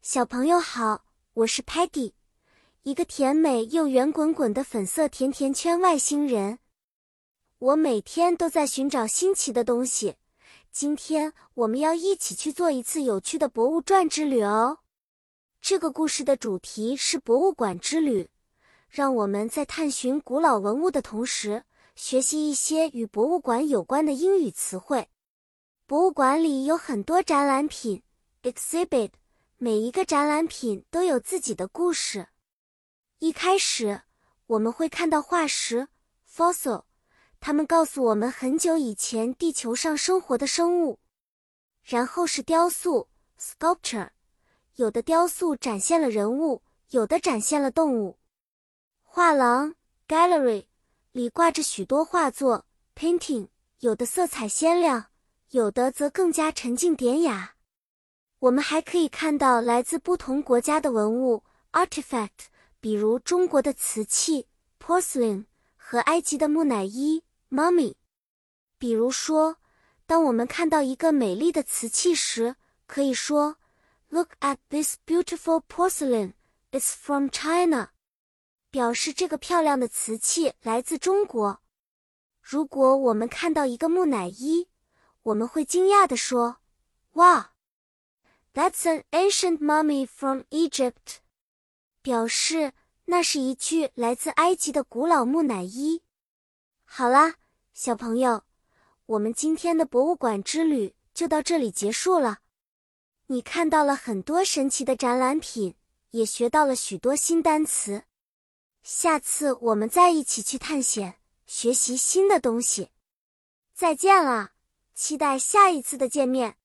小朋友好，我是 Patty， 一个甜美又圆滚滚的粉色甜甜圈外星人。我每天都在寻找新奇的东西，今天我们要一起去做一次有趣的博物转之旅哦。这个故事的主题是博物馆之旅，让我们在探寻古老文物的同时，学习一些与博物馆有关的英语词汇。博物馆里有很多展览品 exhibit， 每一个展览品都有自己的故事。一开始，我们会看到化石 fossil， 它们告诉我们很久以前地球上生活的生物。然后是雕塑 sculpture， 有的雕塑展现了人物，有的展现了动物。画廊 gallery， 里挂着许多画作 painting， 有的色彩鲜亮，有的则更加沉静典雅。我们还可以看到来自不同国家的文物 artifact， 比如中国的瓷器 porcelain 和埃及的木乃伊 mummy。比如说，当我们看到一个美丽的瓷器时，可以说 Look at this beautiful porcelain, it's from China， 表示这个漂亮的瓷器来自中国。如果我们看到一个木乃伊，我们会惊讶地说 Wow，That's an ancient mummy from Egypt， 表示那是一具来自埃及的古老木乃伊。好啦，小朋友，我们今天的博物馆之旅就到这里结束了。你看到了很多神奇的展览品，也学到了许多新单词。下次我们再一起去探险，学习新的东西。再见啦，期待下一次的见面。